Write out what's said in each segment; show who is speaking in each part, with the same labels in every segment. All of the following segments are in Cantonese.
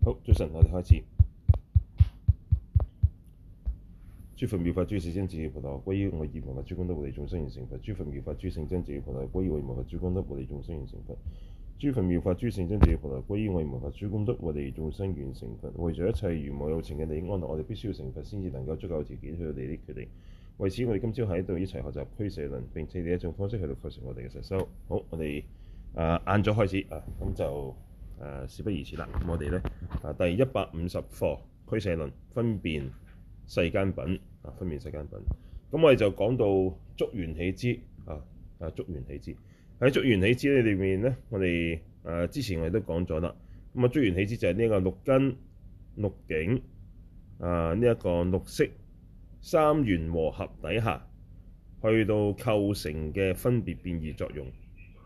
Speaker 1: 好，早晨，我哋開始。諸佛妙法諸世尊自己菩提，歸依我以無法諸功德護利眾生完成佛。諸佛妙法諸聖真自己菩提，歸依我以無法諸功德護利眾生完成佛。諸佛妙法諸聖真自己菩提，歸依我以無法諸功德護利眾生完成佛。為咗一切如母有情嘅利益安樂，我哋必須要成佛，先至能夠足夠條件去到利益佢哋。為此，我哋今朝喺度一齊學習俱舍論，並且以一種方式去到構成我哋嘅實修。好，我哋晏咗開始咁就事不宜遲啦。咁我哋咧第150課俱舍論分辨世間品分辨世間品。咁我哋就講到觸緣起支觸緣起支。喺觸緣起支裏面咧，我哋之前我哋都講咗啦。咁觸緣起支就係呢一個六根、六境呢一個六識三緣和合底下去到構成嘅分別變異作用。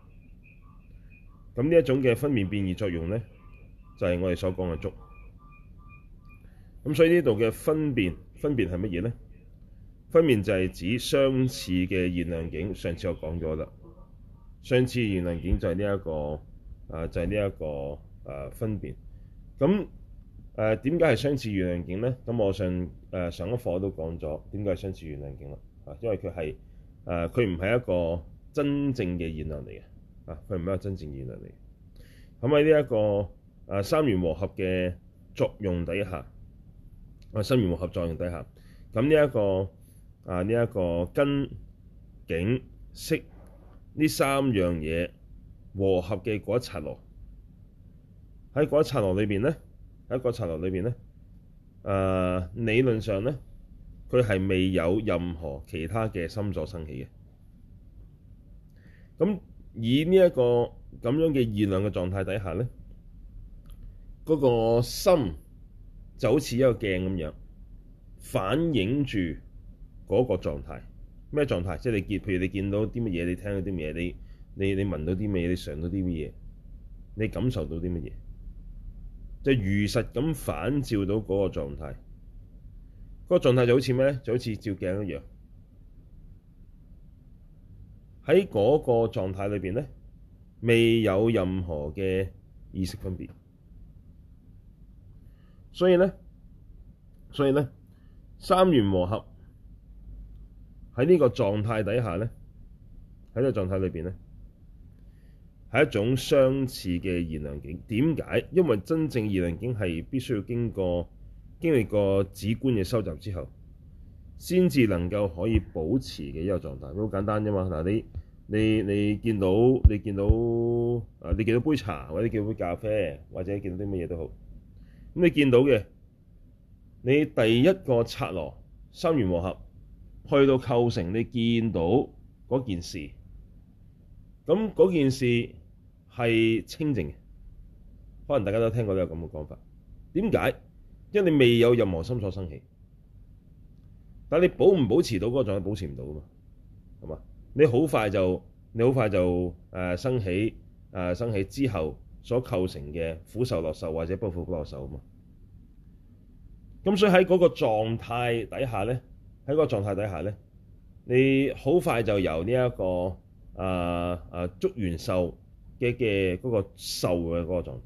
Speaker 1: 咁呢一種嘅分別變異作用咧，就係我哋所講嘅觸。咁所以呢度嘅分別係乜嘢咧？分別就係指相似嘅現量境。上次我講咗啦，相似現量境就係呢一個分別。咁點解係相似現量境咧？咁我上一課都講咗點解係相似現量境啦。因為佢唔係一個真正嘅現量嚟嘅。佢唔係一個真正現量嚟。咁喺呢一個三緣和合嘅作用底下，三緣和合作用底下，咁呢一個根、境、識呢三樣嘢和合嘅嗰一剎那，喺嗰一剎那裏邊咧，理論上咧，佢係未有任何其他嘅心所生起嘅。咁以呢一個咁樣嘅現量嘅狀態底下咧，嗰個心就好似一個鏡咁樣，反映住嗰個狀態。咩狀態？即係譬如你見到啲乜嘢，你聽到啲乜嘢，你聞到啲乜嘢，你嘗到啲乜嘢，你感受到啲乜嘢，就如實咁反照到嗰個狀態。嗰個狀態就好似咩咧？就好似照鏡一樣。喺嗰個狀態裏邊咧，未有任何嘅意識分別。所以咧，三緣和合喺呢個狀態底下咧，喺呢個狀態裏邊咧，係一種相似嘅現量境。點解？因為真正現量境係必須要經歷過止觀嘅收集之後，先至能夠可以保持嘅一個狀態。好簡單啫嘛。嗱，你見到杯茶，或者見到杯咖啡，或者見到啲乜嘢都好。咁你見到嘅，你第一個剎那三緣和合去到構成，你見到嗰件事，咁嗰件事係清淨嘅。可能大家都聽過呢個咁嘅講法。點解？因為你未有任何心所生起。但係你保唔保持到嗰個狀態？保持唔到噶嘛，係嘛？你好快就生起之後所構成嘅苦受、樂受或者不苦不樂受啊嘛。咁所以喺嗰個狀態底下咧，你好快就由呢一個觸緣受嘅嗰個受嘅嗰個狀態。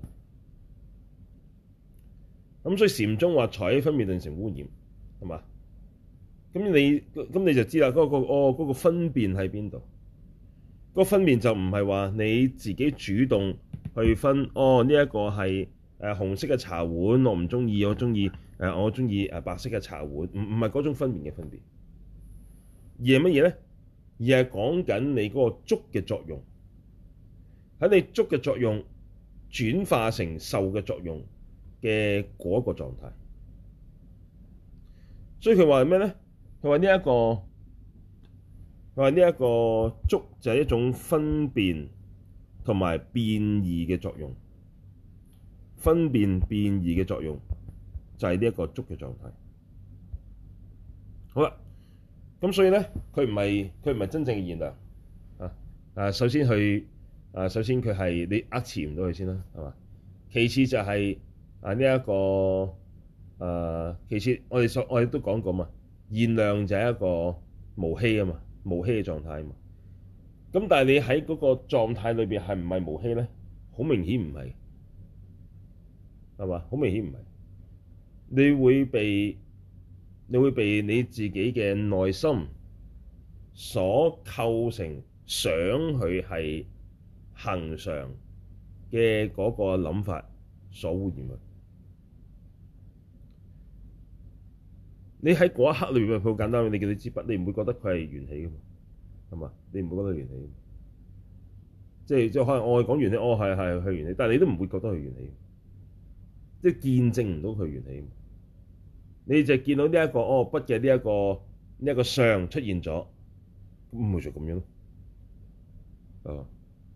Speaker 1: 咁所以禪宗話財起分別頓成污染，係嘛？咁你就知啦，嗰個分別喺邊度？嗰個分別就唔係話你自己主動去分，呢一個係紅色嘅茶碗，我唔中意，我中意白色嘅茶碗，唔係嗰種分別嘅分別，而係乜嘢咧？而係講緊你嗰個觸嘅作用，喺你觸嘅作用轉化成受嘅作用嘅嗰個狀態。所以佢話咩咧？佢話呢一個觸就係一種分辨同埋變異嘅作用。分辨變異嘅作用就係呢一個觸嘅狀態。好啦，咁所以咧，佢唔係真正嘅現量。首先佢係你持唔到佢先啦，係嘛？其次就係呢一個其次我哋都講過嘛，現量就係一個無希啊嘛，無希嘅狀態啊嘛。咁但係你喺嗰個狀態裏邊係唔係無希咧？好明顯唔係。 係嘛？好明顯唔係，你會被你自己嘅內心所構成想佢係恆常嘅嗰個諗法所污染嘅。你喺嗰一刻裏邊好簡單，你叫你支筆，你唔會覺得佢係緣起嘅嘛？係嘛？你唔會覺得緣起，即係可能我係講緣起，係緣起，但係你都唔會覺得佢緣起，即係見證唔到佢緣起。你就見到呢一個筆嘅呢一個相出現咗，咁咪就咁樣咯。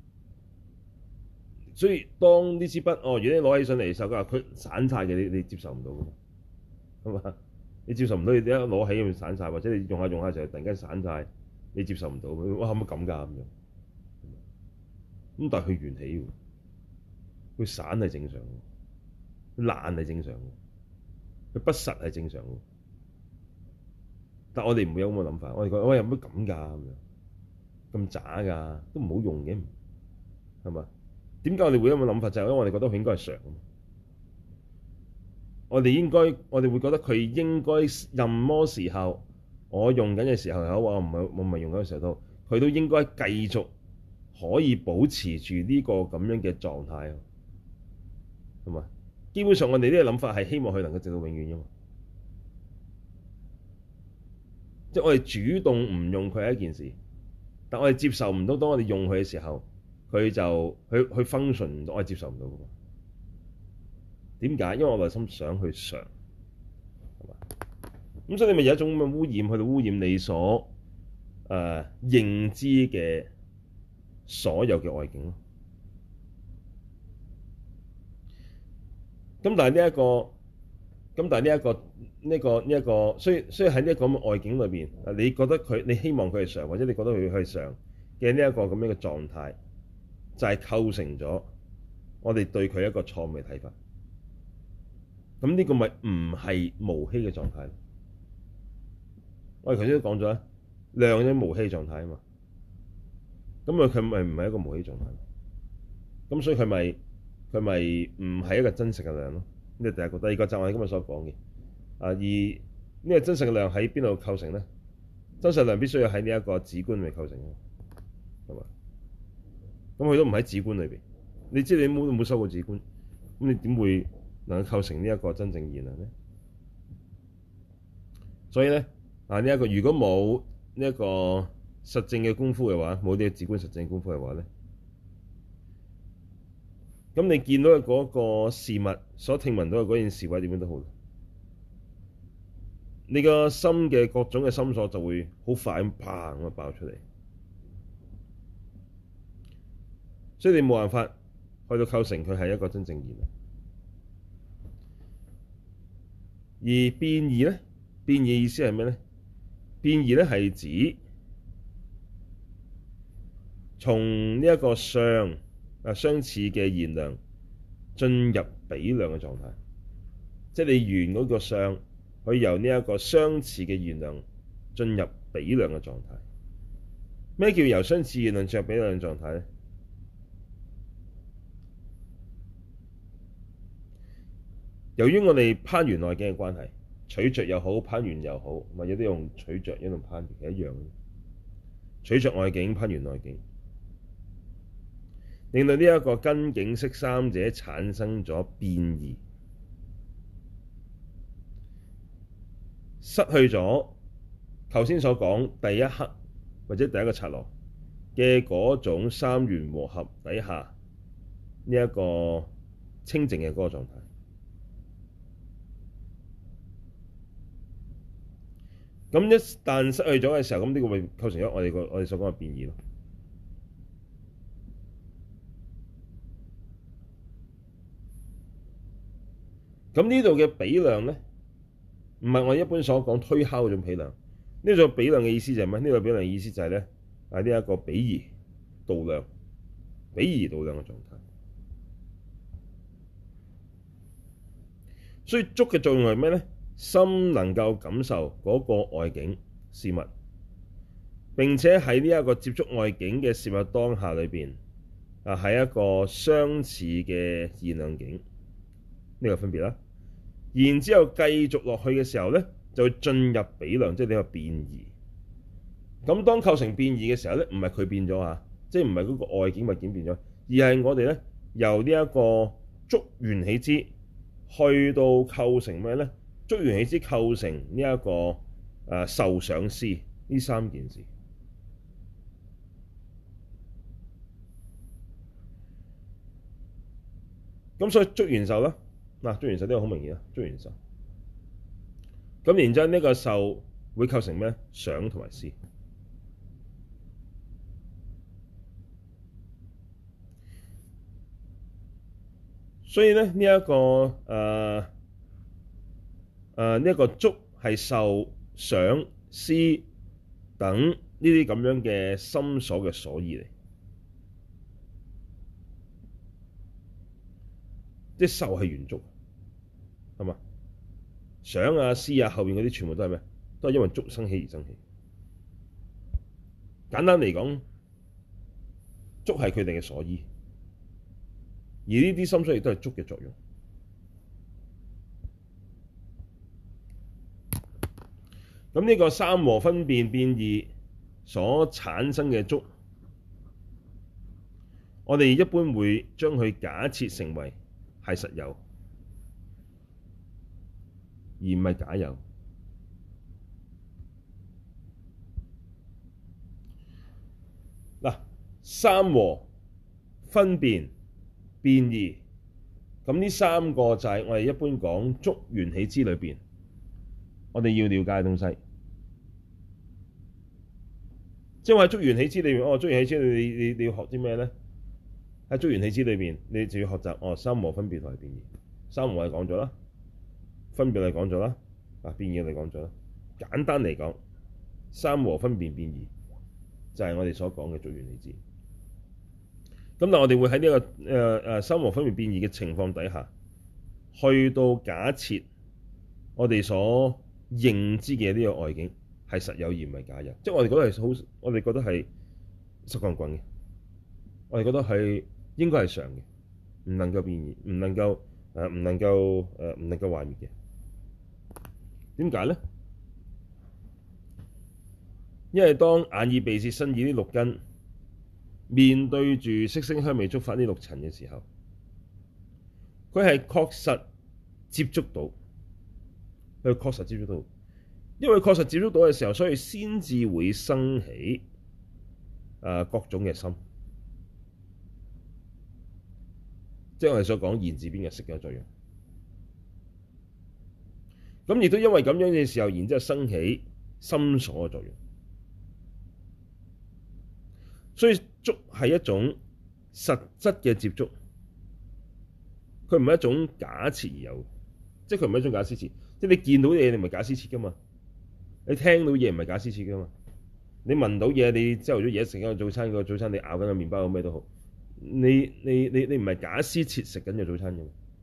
Speaker 1: 所以當呢支筆如果你攞起上嚟嘅時候，佢散晒嘅，你接受唔到㗎嘛？係嘛？你接受唔到，你一攞起咁散晒，或者你用下用下就突然間散晒，你接受唔到。哇，可唔可以咁㗎咁樣？咁但係佢緣起喎，佢散係正常嘅，佢爛係正常嘅，佢不實係正常嘅。但我哋唔會有咁嘅諗法，我哋覺得有乜咁㗎咁樣，咁渣㗎，都唔好用嘅，係嘛？點解我哋會有咁嘅諗法？就係因為我哋覺得佢應該係常。我哋會覺得佢應該任麼時候，我用緊嘅時候又好，我唔係用緊嘅時候都，佢都應該繼續可以保持住呢個咁樣嘅狀態，係嘛？基本上我哋呢個諗法係希望佢能夠直到永遠㗎嘛。即係我哋主動唔用佢係一件事，但我哋接受唔到，當我哋用佢嘅時候，佢就去 function 唔到，我係接受唔到㗎嘛。點解？因為我內心想去常，係嘛？咁所以你咪有一種咁嘅污染，去到污染你所認知嘅所有嘅外境咯。咁但係呢一個，所以喺呢一個咁嘅外境裏邊，你覺得你希望佢係常，或者你覺得佢係常嘅呢一個咁樣嘅狀態，就係構成咗我哋對佢一個錯誤嘅睇法。咁呢個咪唔係無希嘅狀態？我哋頭先都講咗啦，量嘅無希狀態啊嘛。咁佢咪唔係一個無希狀態？咁所以佢咪唔係一個真實嘅量咯？呢個第一個。第二個就係我哋今日所講嘅。而呢個真實嘅量喺邊度構成咧？真實量必須要喺呢一個止觀裏構成嘅，係嘛？咁佢都唔喺止觀裏邊。你知你冇修過止觀，咁你點會能夠構成呢一個真正現量咧？所以咧呢一個如果冇呢一個實證嘅功夫嘅話，冇呢個止觀實證功夫嘅話咧，咁你見到嘅嗰個事物所聽聞到嘅嗰件事或者點樣都好，你個心嘅各種嘅心所就會好快咁砰咁爆出嚟，所以你冇辦法去到構成佢係一個真正現量。而變異咧，變異意思係咩咧？變異咧係指從呢一個相相似嘅現量進入比量嘅狀態，即係你緣嗰個相可以由呢一個相似嘅現量進入比量嘅狀態。咩叫由相似現量進入比量嘅狀態咧？由於我哋攀緣內境嘅關係，取着又好，攀緣又好，咪有啲用取着，有啲用攀緣，其實一樣嘅。取着外境，攀緣內境，令到呢一個根境識三者產生咗變異，失去咗頭先所講第一刻或者第一個剎那嘅嗰種三緣和合底下呢一個清淨嘅嗰個狀態。咁一旦失去咗嘅時候，咁呢個會構成咗我哋所講嘅變異咯。咁呢度嘅比量咧，唔係我哋一般所講推敲嗰種比量。呢種比量嘅意思就係咩？呢個比量嘅意思就係咧呢一個比擬度量，比擬度量嘅狀態。所以觸嘅作用係咩咧？心能夠感受嗰個外境事物，並且喺呢一個接觸外境嘅事物當下裏邊，係一個相似嘅現量境。 呢個分別啦。然之後繼續落去嘅時候咧，就會進入比量，即係呢個變異。咁當構成變異嘅時候咧，唔係佢變咗啊，即係唔係嗰個外境物件變咗，而係我哋咧由呢一個觸緣起支去到構成咩咧？觸緣起支構成呢一個受想思呢三件事。咁所以觸緣受啦，嗱觸緣受呢個好明顯啊，觸緣受。咁然之後呢個受會構成咩？想同埋思。所以咧呢一個呢一個觸係受想思等呢啲咁樣嘅心所嘅所依嚟，即係受係緣觸，係嘛？想啊思啊後邊嗰啲全部都係咩？都係因為觸生起而生起。簡單嚟講，觸係佢哋嘅所依，而呢啲心所亦都係觸嘅作用。咁呢個三和分別變異所產生嘅觸，我哋一般會將佢假設成為係實有，而唔係假有。嗱，三和分別變異，咁呢三個就係我哋一般講觸緣起支裏邊，我哋要了解嘅東西。即係話觸緣起支裏邊，觸緣起支你要學啲咩咧？喺觸緣起支裏邊，你就要學習三和分別同埋變異。三和係講咗啦，分別係講咗啦，變異係講咗啦。簡單嚟講，三和分別變異就係我哋所講嘅觸緣起支。咁但係我哋會喺呢個三和分別變異嘅情況底下，去到假設我哋所認知嘅呢個外境係實有而唔係假有，即係我哋覺得係好，我哋覺得係實棍棍嘅，我哋覺得係應該係常嘅，唔能夠變異，唔能夠壞滅嘅。點解咧？因為當眼耳鼻舌身意呢六根面對住色聲香味觸法呢六塵嘅時候，佢係確實接觸到，因為確實接觸到嘅時候，所以先至會生起各種嘅心，即係我哋所講言字邊嘅識嘅作用。咁亦都因為咁樣嘅時候，然之後生起心所嘅作用。所以觸係一種實質嘅接觸，佢唔係一種假設而有，即係佢唔係一種假施設。即係你見到嘢，你唔係假施設噶嘛？你聽到嘢唔係假施設噶嘛？你聞到嘢，你朝頭早嘢食緊個早餐，個早餐你咬緊個麵包，咩都好，你唔係假施設食緊個早餐嘅。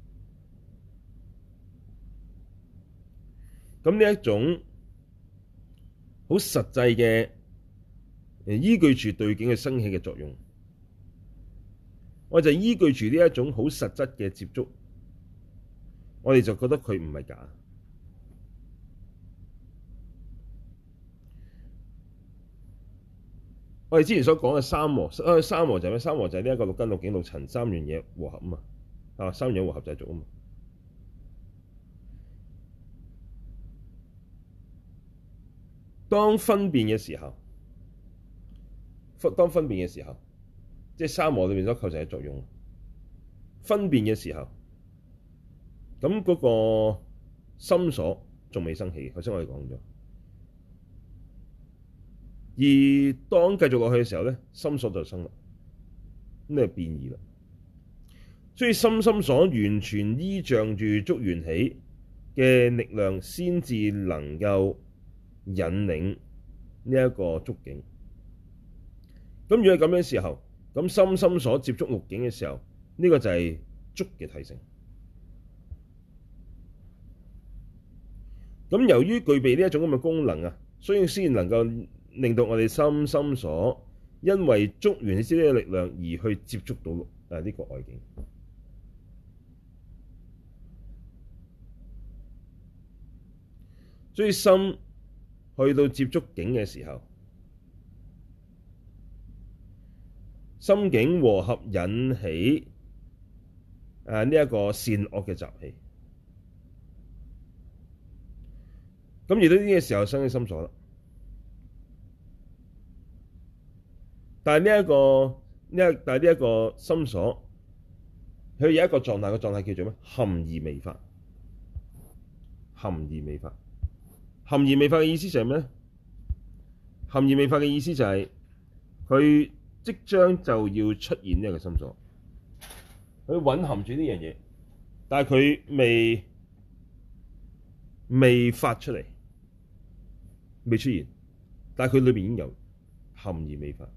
Speaker 1: 咁呢一種好實際嘅依據住對境嘅生起嘅作用，我就依據住呢一種好實質嘅接觸，我哋就覺得佢唔係假。我哋之前所講嘅三和，三和就係咩？三和就係呢一個六根六境六塵三樣嘢和合啊嘛，三樣和合就係觸啊嘛。當分辨嘅時候，即係三和裏面所構成嘅作用。分辨嘅時候，咁嗰個心所仲未生起，頭先我哋講咗。而當繼續落去嘅時候咧，心所就生啦，咁就變異啦。所以心所完全依仗住觸緣起嘅力量，先至能夠引領呢一個觸境。咁如果係咁樣嘅時候，咁心所接觸六境嘅時候，呢個就係觸嘅體性。咁由於具備呢一種咁嘅功能啊，所以先能夠令到我哋心所因為觸緣起呢個力量而去接觸到呢個外境。 所以心去到接觸境嘅時候，心境和合引起呢一個善惡嘅習氣。咁遇到呢個時候生起心所啦。但係呢一個心所，佢有一個狀態，個狀態叫做咩？含而未發。含而未發。含而未發嘅意思就係咩咧？含而未發嘅意思就係佢即將就要出現呢一個心所，佢蘊含住呢樣嘢，但係佢未發出嚟，未出現，但係佢裏邊已經有含而未發。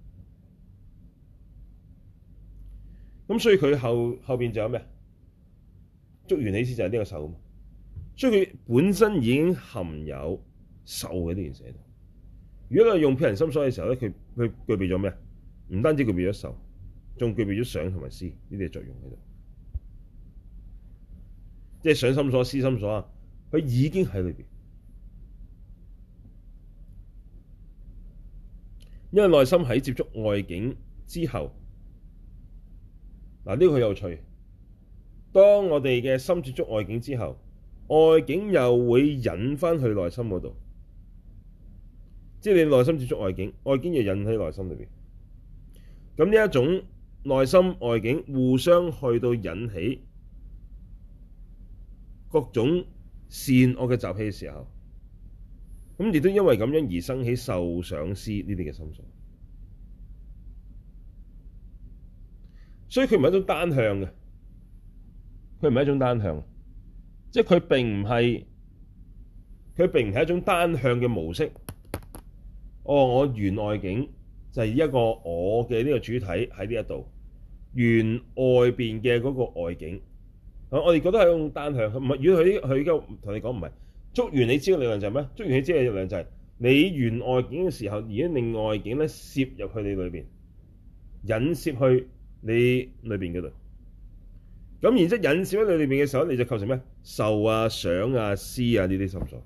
Speaker 1: 咁所以佢後邊就有咩？觸緣起支就係呢個受啊嘛。所以佢本身已經含有受嘅呢件事喺度。如果你用遍行心所嘅時候咧，佢具備咗咩？唔單止具備咗受，仲具備咗想同埋思呢啲作用喺度。即係想心所、思心所啊，佢已經喺裏邊。因為內心喺接觸外境之後，嗱呢個好有趣。當我哋嘅心接觸外境之後，外境又會引返去內心嗰度，即係你內心接觸外境，外境又引喺內心裏邊。咁呢一種內心外境互相去到引起各種善惡嘅習氣嘅時候，咁亦都因為咁樣而生起受想思呢啲嘅心所。所以佢唔係一種單向嘅，佢唔係一種單向，即係佢並唔係一種單向嘅模式。我緣外境就係一個我嘅呢個主體喺呢一度，緣外邊嘅嗰個外境，我哋覺得係一種單向。唔係，如果佢而家同你講唔係，觸緣起支嘅理論就係咩？觸緣起支嘅理論就係你緣外境嘅時候，而家令外境咧攝入去你裏邊，引攝去你裏邊嗰度。咁然之後引攝喺你裏邊嘅時候，你就構成咩？受啊、想啊、思啊呢啲心所。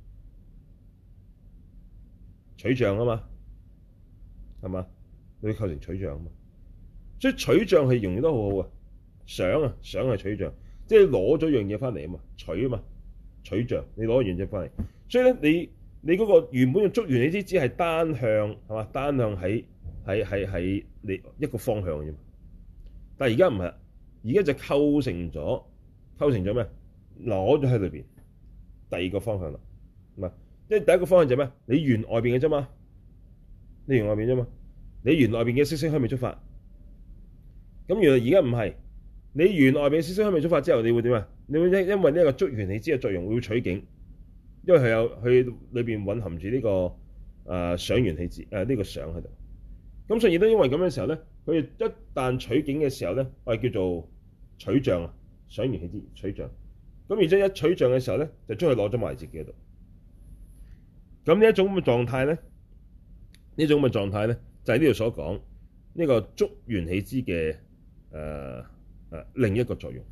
Speaker 1: 取像啊嘛，係嘛？你構成取像啊嘛，所以取像係形容得好好啊。想係取像，即係攞咗樣嘢翻嚟啊嘛，取啊嘛，取像，你攞樣嘢翻嚟。所以咧，你嗰個原本嘅觸緣起支只係單向係嘛？單向喺你一個方向嘅啫嘛。但係而家唔係，而家就構成咗咩？攞咗喺裏邊第二個方向啦，係嘛？即係第一個方向就係咩？你緣外邊嘅啫嘛，你緣外邊啫嘛，你緣外邊嘅色聲香味觸法。咁原來而家唔係，你緣外邊嘅色聲香味觸法之後，你會點啊？你會因為呢一個觸緣起支嘅作用會取境，因為佢裏邊蘊含住呢個想緣起支呢個想喺度。咁所以亦都因為咁嘅時候咧，佢一旦取境嘅時候咧，我哋叫做取像啊，想緣起支取像。咁然之後一取像嘅時候咧，就將佢攞咗埋自己嗰度。咁呢一種咁嘅狀態咧，就係呢度所講呢個觸緣起支嘅另一個作用。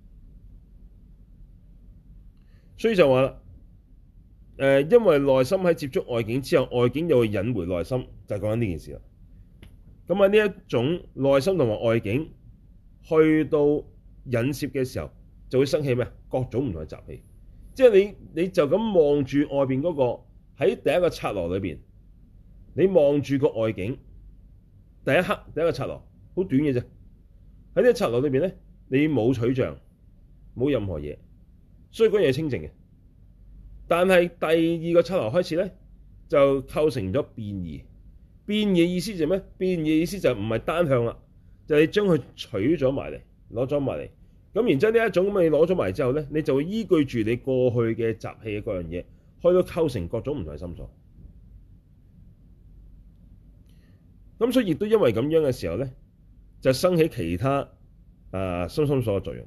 Speaker 1: 所以就話啦，因為內心喺接觸外境之後，外境又會引回內心，就係講緊呢件事啦。咁喺呢一種內心同埋外境去到引攝嘅時候，就會生起咩？各種唔同嘅習氣。即係你就咁望住外邊嗰個。喺第一個剎那裏邊，你望住個外境，第一個剎那好短嘅啫。喺呢個剎那裏邊咧，你冇取像，冇任何嘢，所以嗰樣嘢清淨嘅。但係第二個剎那開始咧，就構成咗變異。變異嘅意思就係咩？變異嘅意思就唔係單向啦，就係你將佢取咗埋嚟，攞咗埋嚟。咁然之後呢一種咁你攞咗埋嚟之後咧，你就會依據住你過去嘅習氣嘅嗰樣嘢。去到構成各種唔同嘅心所，咁所以亦都因為咁樣嘅時候咧，就生起其他心所嘅作用。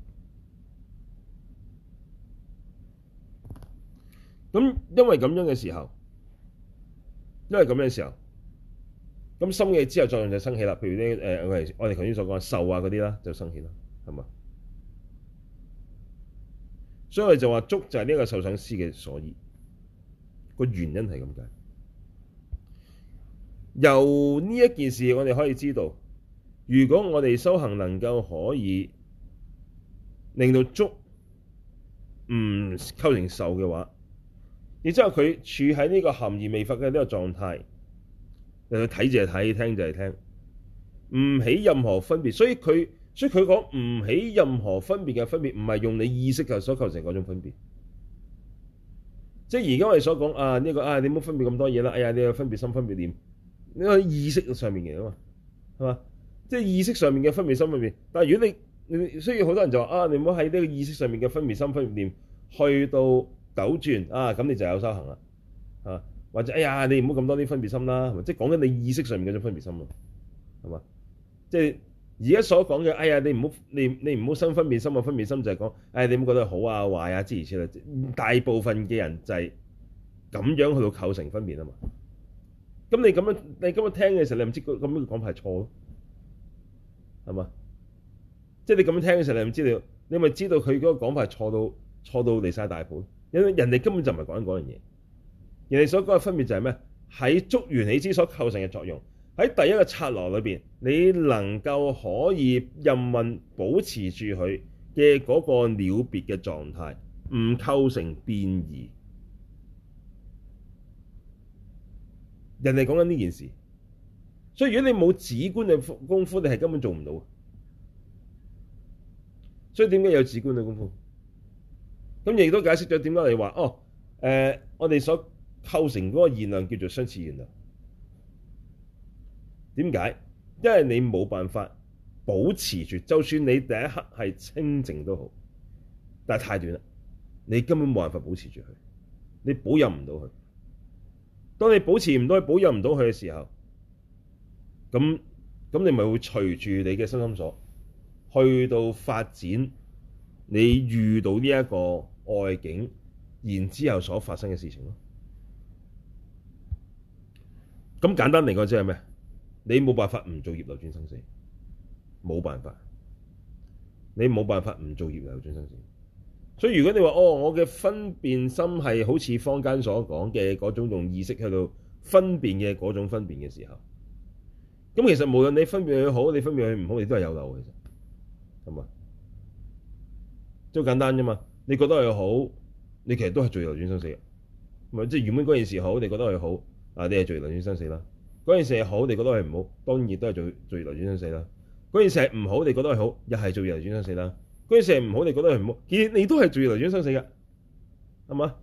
Speaker 1: 咁因為咁樣嘅時候，咁心嘅之後作用就生起啦。譬如呢我哋頭先所講受啊嗰啲啦，就生起啦，係嘛？所以我哋就話觸就係呢個受想思嘅所依。 個原因係咁解。由呢一件事，我哋可以知道，如果我哋修行能夠可以令到觸唔構成受嘅話，然之後佢處喺呢個含而未發嘅呢個狀態，佢睇就係睇，聽就係聽，唔起任何分別。所以佢講唔起任何分別嘅分別，唔係用你意識所構成嗰種分別。即係而家我哋所講啊，呢個啊，你唔好分別咁多嘢啦。哎呀，你有分別心、分別念，呢個意識上面嘅啊嘛，係嘛？即係意識上面嘅分別心分別。但係如果你所以好多人就話啊，你唔好喺呢個意識上面嘅分別心、分別念去到糾轉啊，咁你就有修行啦。啊，或者哎呀，你唔好咁多啲分別心啦，係咪？即係講緊你意識上面嗰種分別心咯，係嘛？即係而家所講嘅，哎呀，你唔好生分別心啊！分別心就係講，哎，你唔好覺得好啊、壞啊諸如此類。大部分嘅人就係咁樣去到構成分別啊嘛。咁你咁樣聽嘅時候，你唔知咁樣講法係錯咯，係嘛？即係你咁樣聽嘅時候，你唔知道，你咪知道佢嗰個講法係錯到離晒大譜。因為人哋根本就唔係講緊嗰樣嘢。人哋所講嘅分別就係咩？喺觸緣起支所構成嘅作用。喺第一個剎那裏邊，你能夠可以任運保持住佢嘅嗰個了別嘅狀態，唔構成變異。人哋講緊呢件事，所以如果你冇止觀嘅功夫，你係根本做唔到。所以點解有止觀嘅功夫？咁亦都解釋咗點解我哋話我哋所構成嗰個現量叫做相似現量。點解？因為你冇辦法保持住，就算你第一刻係清淨都好，但係太短啦，你根本冇辦法保持住佢，你保有唔到佢。當你保持唔到佢、保有唔到佢嘅時候，咁你咪會隨住你嘅身心所去到發展你遇到呢一個外境，然之後所發生嘅事情咯。咁簡單嚟講，即係咩？你冇辦法唔做業流轉生死，冇辦法。你冇辦法唔做業流轉生死。所以如果你話我嘅分辨心係好似坊間所講嘅嗰種用意識去到分辨嘅嗰種分辨嘅時候，咁其實無論你分辨佢好，你分辨佢唔好，你都係有漏嘅，其實係嘛？即係好簡單啫嘛。你覺得佢好，你其實都係做業流轉生死嘅。咪即係原本嗰件事好，你覺得佢好啊，你係做業流轉生死啦。嗰件事係好，你覺得係唔好，當然亦都係做業流轉生死啦。嗰件事係唔好，你覺得係好，又係做業流轉生死啦。嗰件事係唔好，你覺得係唔好，其實你都係做業流轉生死嘅，係嘛？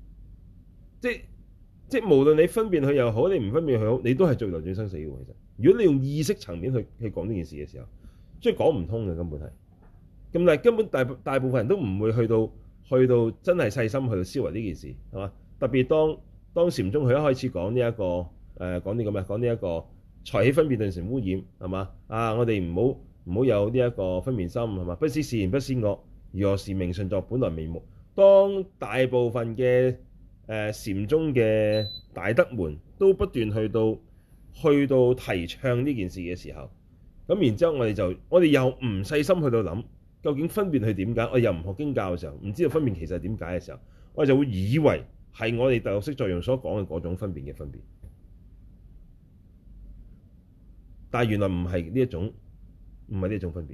Speaker 1: 即係無論你分辨佢又好，你唔分辨佢好，你都係做業流轉生死嘅。其實，如果你用意識層面去講呢件事嘅時候，即係講唔通嘅根本係。咁但係根本大部分人都唔會去到真係細心去到思維呢件事，係嘛？特別當禪宗佢一開始講呢一個。講呢一個財起分別頓成污染，係嘛？啊，我哋唔好有呢一個分別心，係嘛？不思善，不思惡，如何是名？順作本來面目。當大部分嘅禪宗嘅大德們都不斷去到提倡呢件事嘅時候，咁然之後我哋又唔細心去到諗究竟分別係點解？我又唔學經教嘅時候，唔知道分別其實係點解嘅時候，我就會以為係我哋第六識作用所講嘅嗰種分別嘅分別。但係原來唔係呢一種，唔係呢一種分別，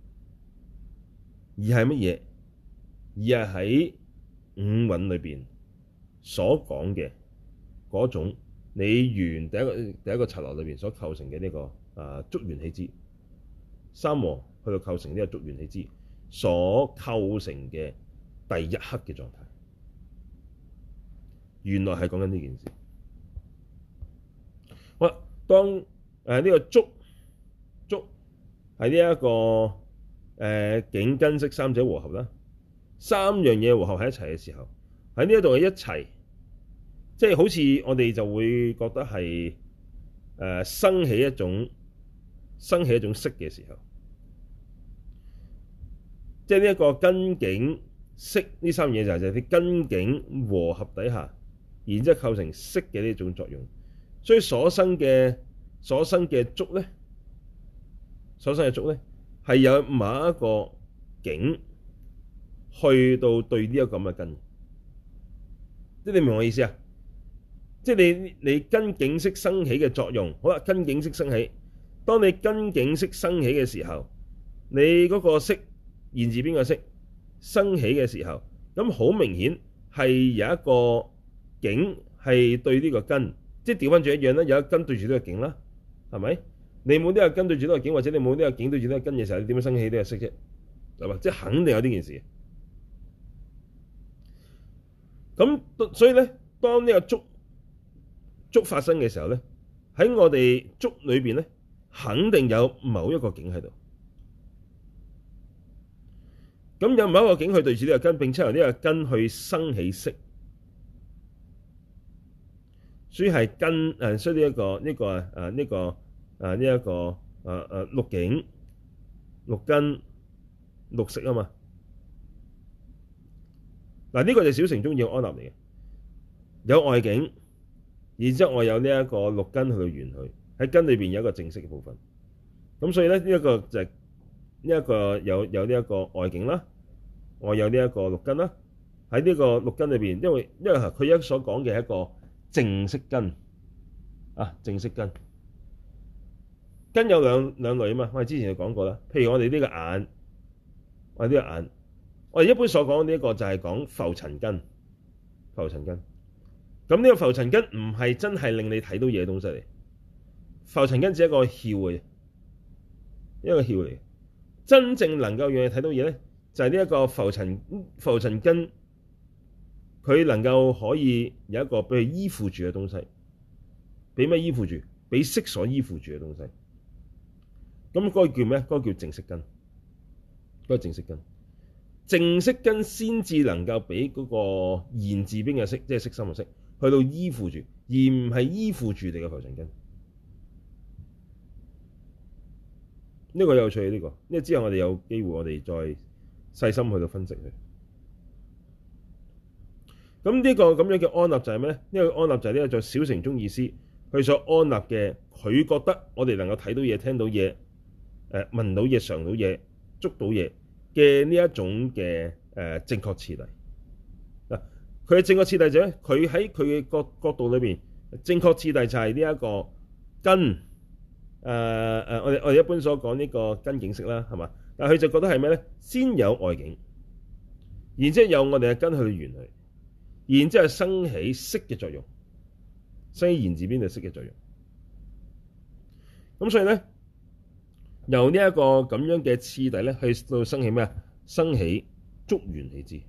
Speaker 1: 而係乜嘢？而係喺五蘊裏邊所講嘅嗰種你緣第一個剎那裏邊所構成嘅呢個觸緣起支，三和去到構成呢個觸緣起支所構成嘅第一刻嘅狀態，原來係講緊呢件事。好啦，當呢個觸係呢一個境根識三者和合啦，三樣嘢和合喺一齊嘅時候，喺呢一度嘅一齊，即係好似我哋就會覺得係生起一種識嘅時候，即係呢一個根境識呢三樣嘢就係啲根境和合底下，然之後構成識嘅呢種作用，所以所生嘅觸咧。所生嘅觸咧，係有某一個境去到對呢一個咁嘅根，即係你明我意思啊？ 即係你根境識生起嘅作用。好啦，根境識生起，當你根境識生起嘅時候，你嗰個識言字邊個識生起嘅時候，咁好明顯係有一個境係對呢個根，即係調翻轉一樣啦，有一根對住呢個境啦，係咪？你冇呢個根對住呢個境，或者你冇呢個境對住呢個根嘅時候，你點樣生起呢個識啫？係嘛？即係肯定有呢件事。咁所以咧，當呢個觸發生嘅時候咧，喺我哋觸裏邊咧，肯定有某一個境喺度。咁有某一個境去對住呢個根，並且由呢個根去生起識，所以係根所以呢一個六境、六根、六識啊嘛。嗱，呢個就係小乘宗義嘅安立嚟嘅，有外境，然之後我有呢一個六根去到緣佢，喺根裏邊有一個正識嘅部分。咁所以咧，呢一個就係呢一個有呢一個外境啦，我有呢一個六根啦。喺呢個六根裏邊，因為佢一所講嘅係一個正識根啊，正識根。根有兩類啊嘛，我哋之前就講過啦。譬如我哋呢個眼，我哋呢個眼，我哋一般所講呢一個就係講浮塵根，浮塵根。咁呢個浮塵根唔係真係令你睇到嘢嘅東西嚟，浮塵根只係一個竅嘅，一個竅嚟。真正能夠讓你睇到嘢咧，就係呢一個浮塵根，佢能夠可以有一個俾佢依附住嘅東西，俾咩依附住？俾識所依附住嘅東西。咁嗰個叫咩？嗰個叫正識根。嗰個正識根，正識根先至能夠俾嗰個言字邊嘅識，即係識心嘅識，去到依附住，而唔係依附住你嘅浮塵根。呢個有趣，呢個，因為之後我哋有機會，我哋再細心去到分析佢。咁呢個咁樣嘅安立就係咩咧？呢個安立就係呢個在小乘宗義師佢所安立嘅，佢覺得我哋能夠睇到嘢、聽到嘢、聞到嘢、嘗到嘢、捉到嘢嘅呢一種嘅正確次第。嗱，佢嘅正確次第就係佢喺佢嘅角度裏邊，正確次第就係呢一個根。我哋一般所講呢個根境識啦，係嘛？但係佢就覺得係咩咧？先有外境，然之後有我哋嘅根去緣佢，然之後生起識嘅作用，生起言字邊嘅識嘅作用。咁所以咧，由呢一個咁樣嘅次第咧，去到生起咩啊？生起觸緣起支。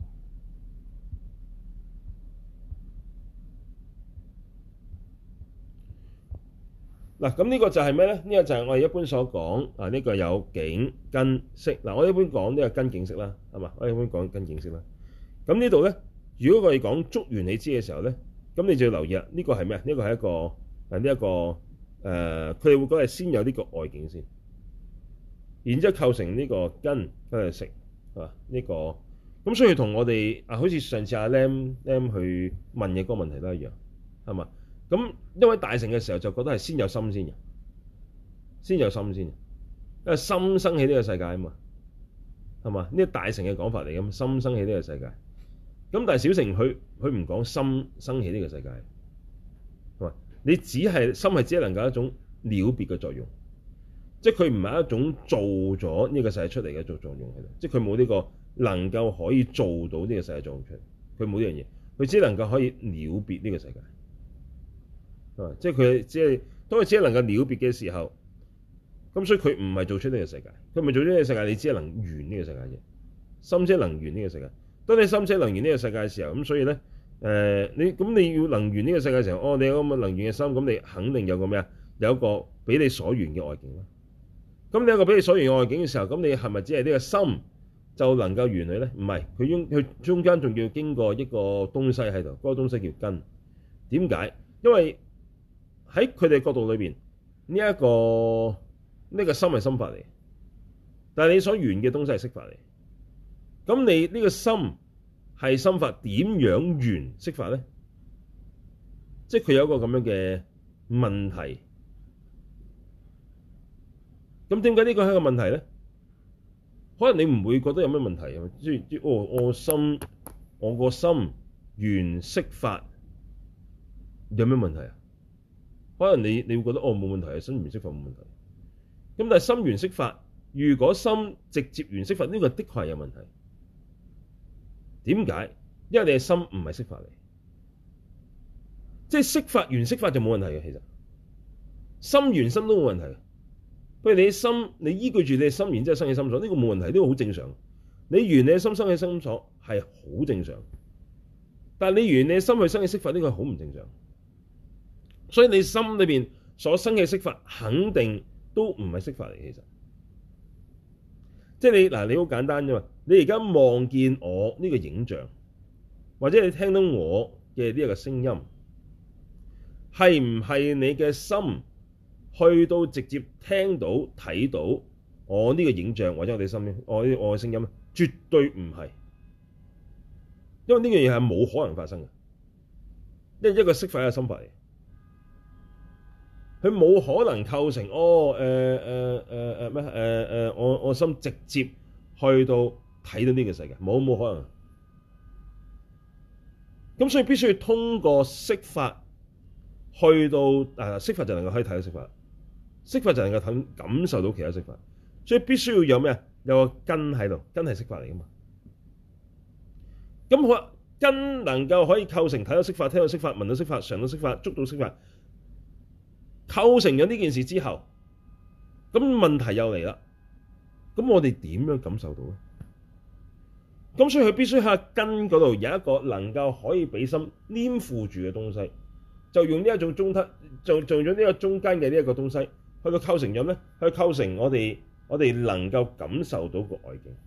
Speaker 1: 嗱，咁呢個就係咩咧？呢個就係我哋一般所講啊，呢個有境根識。嗱，我一般講呢個根境識啦，係嘛？我一般講根境識啦。咁呢度咧，如果我哋講觸緣起支嘅時候咧，咁你就要留意啦。呢個係咩啊？呢個係一個佢哋會講係先有呢個外境先，然之後構成呢個根去識啊。呢個咁所以同我哋好似上次阿 Lam 去問嘅嗰個問題都一樣，係嘛？咁因為大乘嘅時候就覺得係先有心先嘅，先有心先，因為心生起呢個世界啊嘛，係嘛？呢個大乘嘅講法嚟嘅，心生起呢個世界。咁但係小乘佢唔講心生起呢個世界，係嘛？你只係心係只係能夠一種了別嘅作用，即係佢唔係一種做咗呢個世界出嚟嘅作用喺度，即係佢冇呢個能夠可以做到呢個世界作用出嚟，佢冇呢樣嘢，佢只能夠可以了別呢個世界。即係佢當佢只係能夠了別嘅時候，咁所以佢唔係做出呢個世界，佢唔係做出呢個世界，你只係能緣呢個世界啫。心者能緣呢個世界，當你心者能緣呢個世界嘅時候，咁所以咧，你要能緣呢個世界嘅時候，你有咁嘅能緣嘅心，咁你肯定有個咩啊？有一個俾你所緣嘅外境啦。咁你有一個俾你所緣嘅外境嘅時候，咁你係咪只係呢個心就能夠緣佢咧？唔係，佢中間仲要經過一個東西喺度，嗰個東西叫根。點解？因為喺佢哋角度裏邊，呢個心係心法嚟，但係你所緣嘅東西係識法嚟。咁你呢個心係心法，點樣緣識法咧？即係佢有一個咁樣嘅問題。咁點解呢個係一個問題咧？可能你唔會覺得有咩問題啊？即係我個心緣識法。 有咩問題啊？可能你會覺得哦冇問題啊，心緣識法冇問題。咁但係心緣識法，如果心直接緣識法，呢個的確係有問題。點解？因為你嘅心唔係識法嚟，即係識法緣識法就冇問題嘅。其實心緣心都冇問題。不如你嘅心，你依據住你嘅心，然之後生起心所，呢個冇問題，呢個好正常。你緣你嘅心生起心所係好正常，但係你緣你嘅心去生起識法，呢個係好唔正常。所以你心裏邊所生嘅識法，肯定都唔係識法嚟。其實，即係你好簡單啫嘛。你而家望見我呢個影像，或者你聽到我嘅呢一個聲音，係唔係你嘅心去到直接聽到睇到我呢個影像或者我哋心我嘅聲音咧？絕對唔係，因為呢樣嘢係冇可能發生嘅，因為一個識法係心法嚟，佢冇可能構成我心直接去到睇到呢個世界，冇可能。咁所以必須要通過識法去到識法就能夠可以睇到識法，識法就能夠感受到其他識法，所以必須要有咩啊？有個根喺度，根係識法嚟噶嘛。咁好啦，根能夠可以構成睇到識法、聽到識法、聞到識法、嘗到識法、觸到識法，構成咗呢件事之後，咁問題又嚟啦。咁我哋點樣感受到咧？咁所以佢必須喺根嗰度有一個能夠可以俾心黏附住嘅東西，就用呢一種中間，做咗呢個中間嘅呢一個東西，去到構成咗咩？去構成我哋能夠感受到個外境。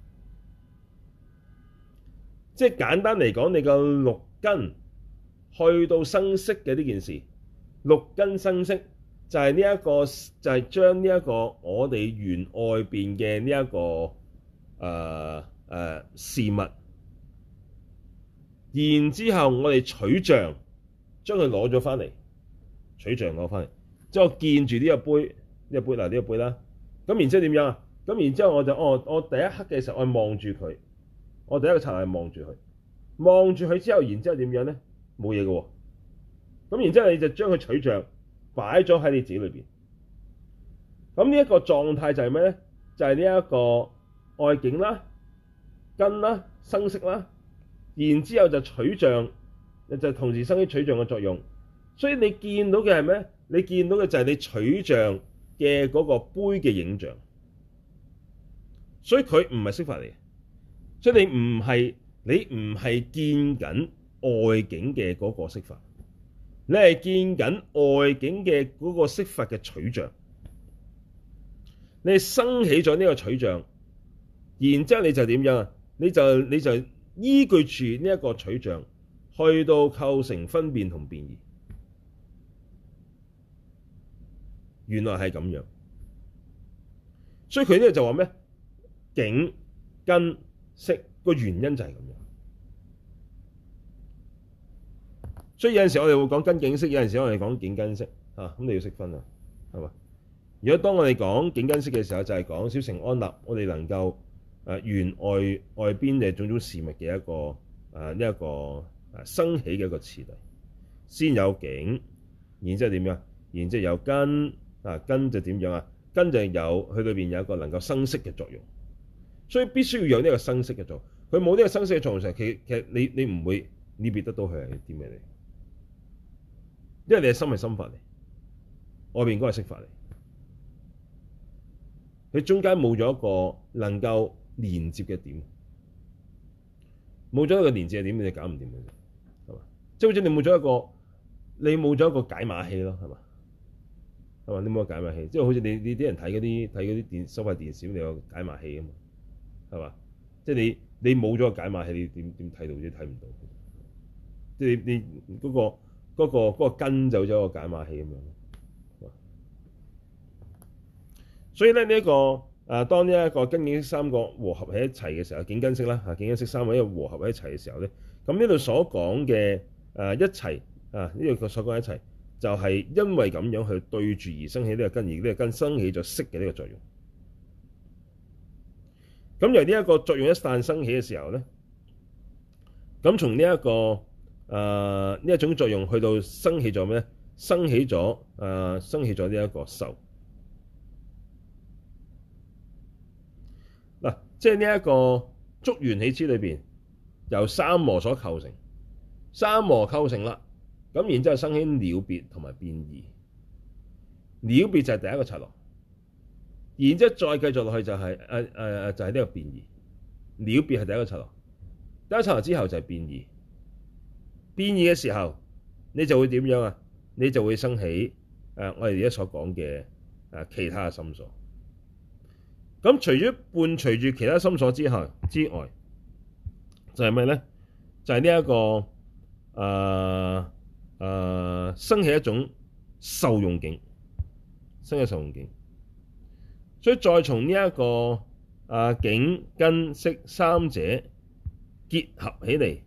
Speaker 1: 即係簡單嚟講，你個六根去到生識嘅呢件事，六根生識就係呢一個，就係將呢一個我哋緣外邊嘅呢一個事物，然之後我哋取像，將佢攞咗翻嚟，取像攞翻嚟，之後見住呢個杯，呢個杯嗱，呢個杯啦，咁然之後點樣啊？咁然之後我就我第一刻嘅時候我望住佢，我第一個層係望住佢，望住佢之後，然之後點樣咧？冇嘢嘅喎，咁然之後你就將佢取像擺咗喺你自己裏邊，咁呢一個狀態就係咩咧？就係呢一個外境啦、根啦、生識啦，然之後就取像，就同時生起取像嘅作用。所以你見到嘅係咩？你見到嘅就係你取像嘅嗰個杯嘅影像。所以佢唔係識法嚟嘅，所以你唔係見緊外境嘅嗰個識法，你係見緊外境嘅嗰個識法嘅取像。你係生起咗呢個取像，然之後你就點樣啊？你就依據住呢一個取像，去到構成分辨同辨異。原來係咁樣，所以佢呢個就話咩？境根識個原因就係咁樣。所以有陣時我哋會講根境識，有陣時我哋講境根識啊，咁你要識分啊，係嘛？如果當我哋講境根識嘅時候，就係講小乘安立，我哋能夠緣外邊嘅種種事物嘅一個呢一個生起嘅一個次第，先有境，然之後點樣？然之後有根根就點樣啊？根就有佢裏邊有一個能夠生識嘅作用。所以必須要有呢個生識嘅作用，佢冇呢個生識嘅作用時，其實你唔會辨別得到佢係啲咩嚟，因為你嘅心係心法嚟，外邊應該係識法嚟，佢中間冇咗一個能夠連接嘅點，冇咗一個連接嘅點，你就搞唔掂嘅啫，係嘛？即係好似你冇咗一個解碼器咯，係嘛？係嘛？你冇個解碼器，即係好似你啲人睇嗰啲收費電視，你有個解碼器啊嘛。係嘛？即係你冇咗個解碼器，你點睇到啫？睇唔到。即係你嗰個根走咗個解碼器咁樣。所以咧呢一個當呢一個根境識三個和合喺一齊嘅時候，境根識啦境根識三個一個和合喺一齊嘅時候咧，咁呢度所講嘅一齊呢度所講一齊，就係因為咁樣去對住而生起呢個根，而呢個根生起咗識嘅呢個作用。咁由呢一個作用一旦生起嘅時候咧，咁從呢一個呢一種作用去到生起咗咩咧？生起咗呢一個受。嗱，即係呢一個觸緣起支裏邊，由三摩所構成，三摩構成啦，咁然之後生起了別同埋變異。了別就係第一個剎那，然之後再繼續落去就係就係呢個變異。了別係第一個剎那，第一個剎那之後就係變異。變異嘅時候，你就會點樣啊？你就會生起我哋而家所講嘅其他嘅心所。咁除咗伴隨住其他心所之外，就係咩咧？就係呢一個生起一種受用境，生起受用境。所以再從呢一個境根識三者結合起嚟，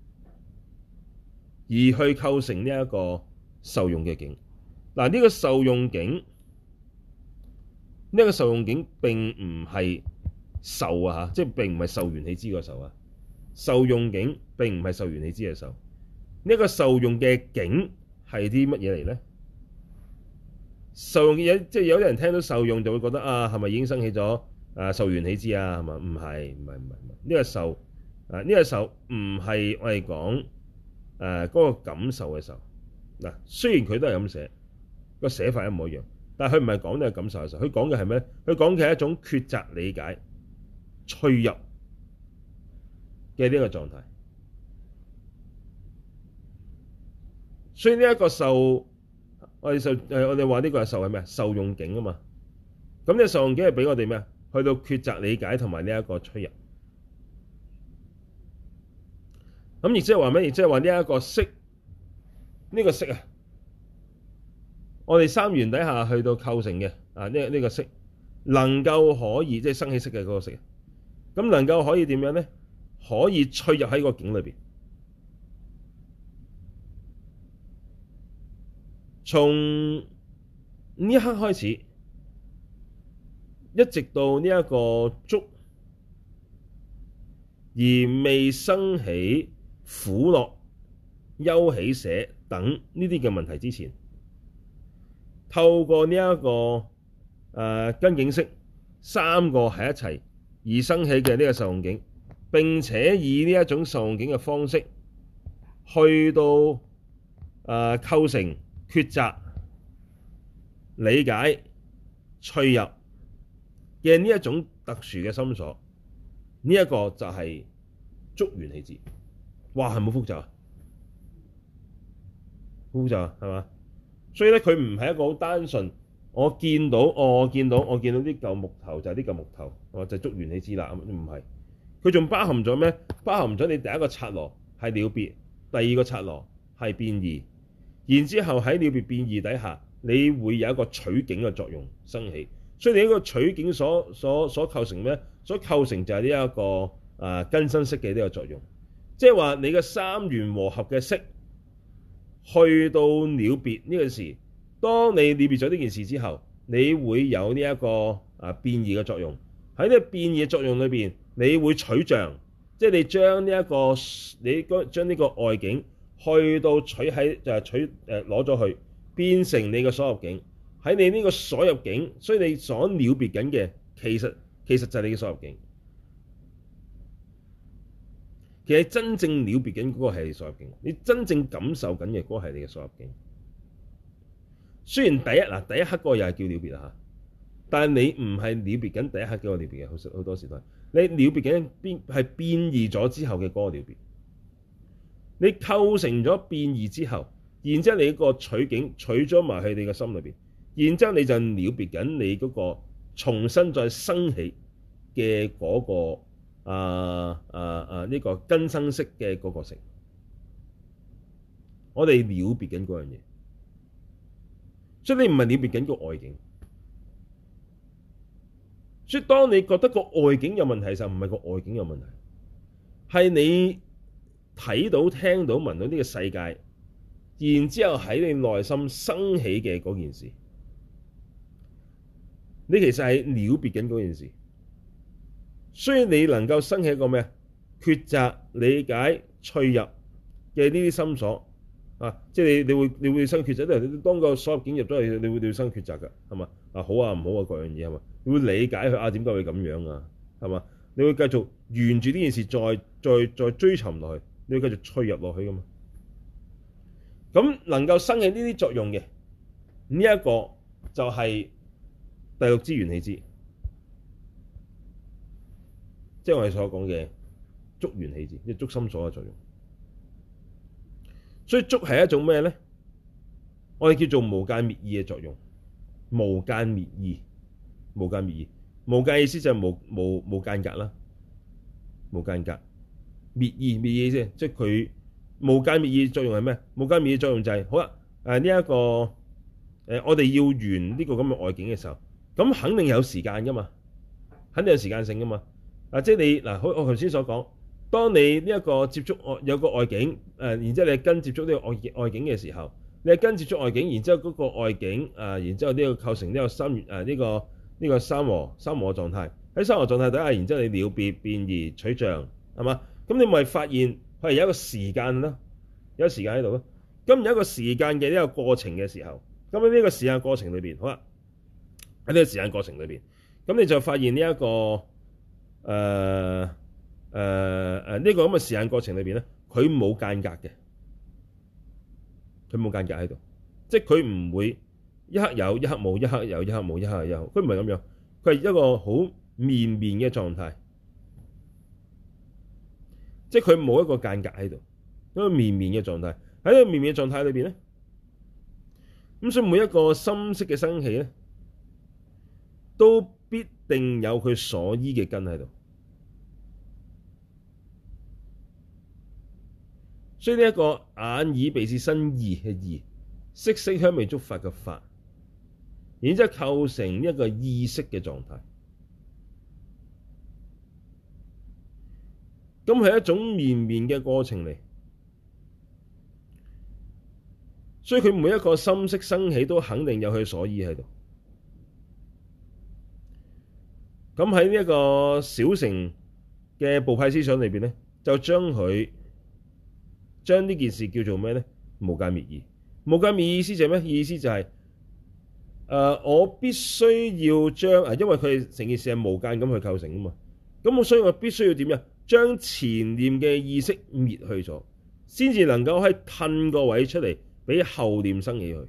Speaker 1: 而去構成呢一個受用嘅境。嗱，呢個受用境，並唔係受啊，即係並唔係受緣起支個受啊。受用境並唔係受緣起支嘅受。呢個受用嘅境係啲乜嘢嚟咧？受用嘅嘢，即係有啲人聽到受用就會覺得係咪已經生起咗受緣起支啊？係嘛？唔係。呢個受呢個受唔係我哋講嗰個感受嘅受。嗱，雖然佢都係咁寫，個寫法一模一樣，但係佢唔係講呢個感受嘅受。佢講嘅係咩？佢講嘅係一種抉擇理解、趣入嘅呢個狀態。所以呢一個受，我哋話呢個係受係咩？受用境啊嘛。咁呢個受用境係俾我哋咩？去到抉擇理解同埋呢一個趣入。咁亦即係話咩？亦即係話呢一個識，呢個識啊，我哋三緣底下去到構成嘅呢個識，能夠可以即係生起識嘅嗰個識，咁能夠可以點樣咧？可以趣入喺個境裏邊。從呢一刻開始，一直到呢一個觸而未生起苦樂、憂喜捨等呢啲嘅問題之前，透過呢一個根境識三個喺一齊而生起嘅呢個受用境，並且以呢一種受用境嘅方式去到構成抉擇、理解、趣入嘅呢一種特殊嘅心所，呢一個就係觸緣起支。哇，係冇複雜啊？複雜係嘛？所以咧，佢唔係一個好單純。我見到啲舊木頭就係啲舊木頭，就係觸緣起支啦。唔係，佢仲包含咗咩？包含咗你第一個剎那係了別，第二個剎那係變異。然之後喺了別變異底下，你會有一個取境嘅作用生起，所以你呢個取境所構成咩？所構成就係呢一個根身識嘅呢個作用，即係話你嘅三緣和合嘅識去到了別呢個事，當你了別咗呢件事之後，你會有呢一個變異嘅作用。喺呢個變異嘅作用裏邊，你會取像，即係你將呢個外境。去到取喺就係攞咗去，變成你嘅所入境。喺你呢個所入境，所以你所了別緊嘅，其實就係你嘅所入境。其實真正了別緊嗰個係你所入境，你真正感受緊嘅嗰個係你嘅所入境。雖然第一刻嗰個又係叫了別啦，但係你唔係了別緊第一刻嗰個了別嘅，好多時都係你了別緊係變異咗之後嘅嗰個了別。你構成咗變異之後，然之後你個取境取咗埋去你嘅心裏邊，然之後你就了別緊你嗰個重新再生起嘅嗰個呢個根身識嘅嗰個識。我哋了別緊嗰樣嘢，所以你唔係了別緊個外境。所以當你覺得個外境有問題嘅時候，唔係個外境有問題，係你睇到、聽到、聞到呢個世界，然之後喺你內心生起嘅嗰件事，你其實係了別緊嗰件事，所以你能夠生起一個咩？抉擇、理解、趣入嘅呢啲心所啊，即係你會生抉擇，因為你當個所入境入咗去，你會生抉擇㗎，係嘛？啊好啊唔好啊各樣嘢係嘛？你會理解佢啊點解會咁樣啊，係嘛？你會繼續沿住呢件事再追尋落去，你會繼續趣入落去㗎嘛？咁能夠生起呢啲作用嘅呢一個就係第六支緣起支，即係我哋所講嘅觸緣起支，即係觸心所嘅作用。所以觸係一種咩咧？我哋叫做無間滅意嘅作用。無間滅意，無間滅意，無間意思就係無間隔啦，無間隔滅意啫，即係佢無間滅意作用係咩？無間滅意作用就係、是、好啦，呢一個我哋要緣呢個咁嘅外境嘅時候，咁肯定有時間噶嘛，肯定有時間性噶嘛。即係你嗱，好我頭先所講，當你呢一個接觸有個外境，然之後你跟接觸呢個外境嘅時候，你係跟接觸外境，然之後嗰個外境然之後呢個構成呢個呢個三和狀態。喺三和狀態底下，然之後你了別變異取像，係嘛？咁你咪發現佢係有一個時間啦，有一個時間喺度咯。咁有一個時間嘅呢個過程嘅時候，咁喺呢個時間過程裏邊，好啦，喺呢個時間過程裏邊，咁你就發現呢一個呢個咁嘅時間過程裏邊咧，佢冇間隔嘅，佢冇間隔喺度，即係佢唔會一刻有一刻冇，一刻有一刻冇，一刻有，佢唔係咁樣，佢係一個好綿綿嘅狀態，即係佢冇一個間隔喺度，一個綿綿嘅狀態。喺呢個綿綿嘅狀態裏邊咧，咁所以每一個心識嘅生起咧，都必定有佢所依嘅根喺度。所以呢一個眼耳鼻舌身意嘅意，色香味觸法嘅法，然之後構成一個意識嘅狀態。咁係一種綿綿嘅過程嚟，所以佢每一個心識生起都肯定有佢所依喺度。咁喺呢一個小乘嘅部派思想裏邊咧，就將呢件事叫做咩咧？無間滅意。無間滅意意思就係咩？意思就係我必須要將因為佢成件事係無間咁去構成啊嘛。咁所以我必須要點呀？將前念嘅意識滅去咗，先至能夠喺褪個位出嚟，俾後念生起去。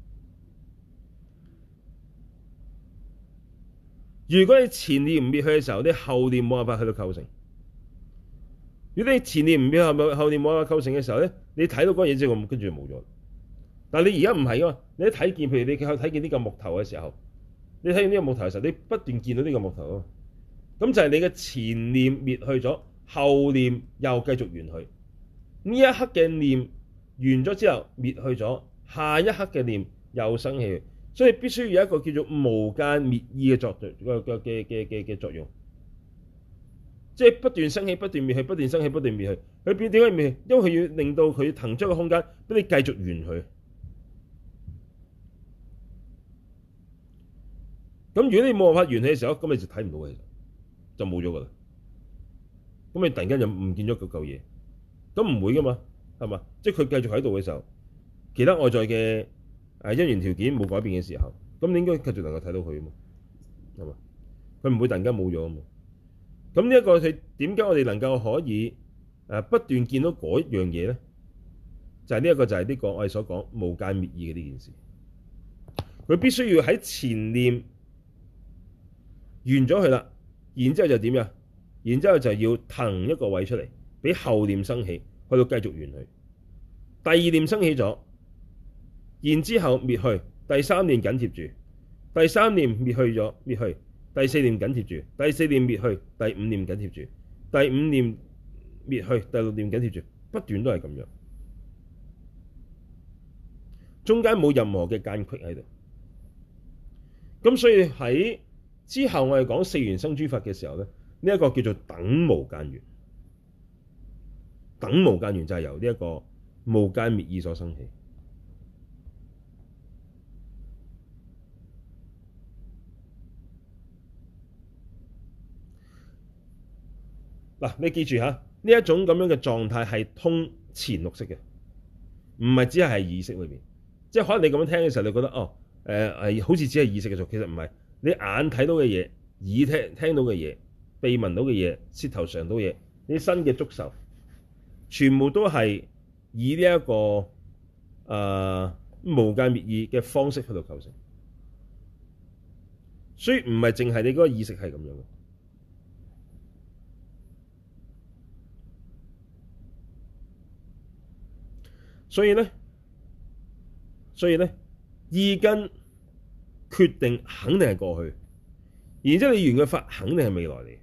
Speaker 1: 如果你前念唔滅去嘅時候，你後念冇辦法去到構成。如果你前念唔滅，後念冇辦法構成嘅時候咧，你睇到嗰嘢之後，跟住就冇咗。但係你而家唔係噶嘛，你一睇見，譬如你睇見呢個木頭嘅時候，你睇見呢個木頭嘅時候，你不斷見到呢個木頭啊，咁就係你嘅前念滅去咗，後念又繼續緣去。呢一刻嘅念完咗之後滅去咗，下一刻嘅念又生起，所以必須要有一個叫做無間滅意嘅作用，即係不斷生起、不斷滅去、不斷生起、不斷滅去。佢點解滅去？因為佢要令到佢騰出個空間俾你繼續緣去。咁如果你冇辦法緣起嘅時候，咁你就睇唔到嘅，就冇咗噶啦。咁你突然間就唔見咗嗰嚿嘢，咁唔會噶嘛，係嘛？即係佢繼續喺度嘅時候，其他外在嘅因緣條件冇改變嘅時候，咁你應該繼續能夠睇到佢啊嘛，係嘛？佢唔會突然間冇咗啊嘛。咁呢一個係點解我哋能夠可以不斷見到嗰一樣嘢咧？就係呢一個就係呢個我哋所講無間滅意嘅呢件事。佢必須要喺前念完咗佢啦，然之後就點呀？然之後就要騰一個位出嚟，俾後念生起，去到繼續緣去。第二念生起咗，然之後滅去，第三念緊貼住，第三念滅去咗，滅去，第四念緊貼住，第四念滅去，第五念緊貼住，第五念滅去，第六念緊貼住，不斷都係咁樣，中間冇任何嘅間隙喺度。咁所以喺之後我哋講四緣生諸法嘅時候咧，呢一個叫做等無間緣。等無間緣就係由呢一個無間滅意所生起。嗱，你記住嚇，呢一種咁樣嘅狀態係通前六識嘅，唔係只係意識裏邊。即係可能你咁樣聽嘅時候，你覺得哦好似只係意識嘅做，其實唔係。你眼睇到嘅嘢、耳聽到嘅嘢、鼻聞到嘅嘢、舌頭嘗到嘢，你身嘅觸受，全部都係以呢一個無間滅意嘅方式去到構成。所以唔係淨係你嗰個意識係咁樣嘅。所以咧，意根決定肯定係過去，然之後你緣嘅法肯定係未來嚟。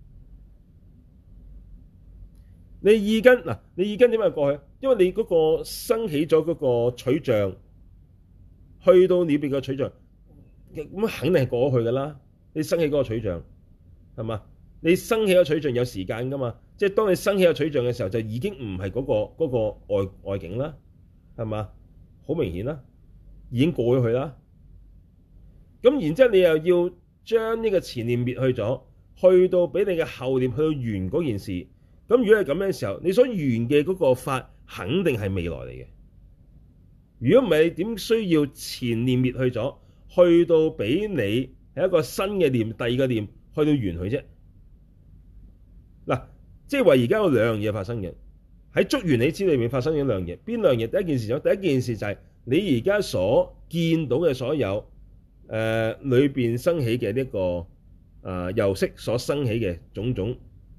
Speaker 1: 你意根點解係過去？因為你嗰個生起咗嗰個取像，去到裏邊嘅取像，咁肯定係過去噶啦。你生起嗰個取像係嘛？你生起個取像有時間噶嘛？即係當你生起個取像嘅時候，就已經唔係嗰個外境啦，係嘛？好明顯啦，已經過咗去啦。咁然之後你又要將呢個前念滅去咗，去到俾你嘅後念去到緣嗰件事。咁如果係咁樣嘅時候，你所緣嘅嗰個法肯定係未來嚟嘅。如果唔係，你點需要前念滅去咗，去到俾你係一個新嘅念，第二個念去到緣佢啫？嗱，即係話而家有兩樣嘢發生嘅，喺觸緣起支裏面發生咗兩樣嘢。邊兩樣嘢？第一件事就係你而家所見到嘅所有裏邊生起嘅呢個由識所生起嘅種種